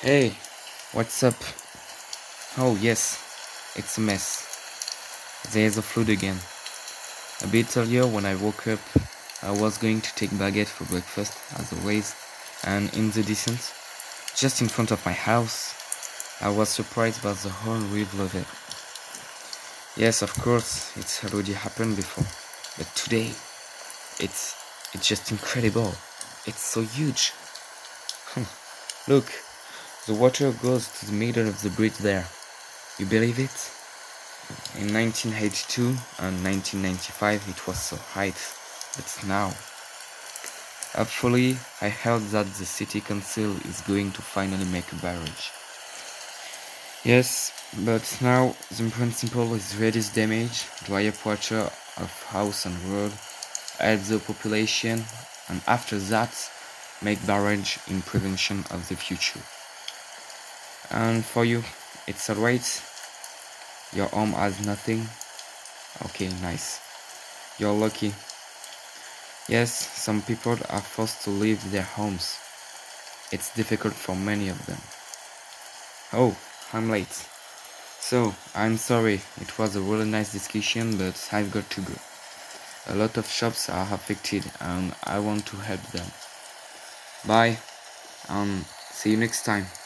Hey, what's up? Oh, yes, it's a mess. There's a flood again. A bit earlier when I woke up, I was going to take baguette for breakfast, as always, and in the distance, just in front of my house, I was surprised by the whole river of it. Yes, of course, it's already happened before, but today, it's it's just incredible. It's so huge. Look, the water goes to the middle of the bridge there. You believe it? In 1982 and 1995 it was so high, but now, hopefully, I heard that the city council is going to finally make a barrage. Yes, but now the principle is reduce damage, dry up water of house and road, help the population, and after that, make barrage in prevention of the future. And for you, it's alright? Your home has nothing? Okay, nice. You're lucky. Yes, some people are forced to leave their homes. It's difficult for many of them. Oh, I'm late. So, I'm sorry, it was a really nice discussion, but I've got to go. A lot of shops are affected and I want to help them. Bye, and see you next time.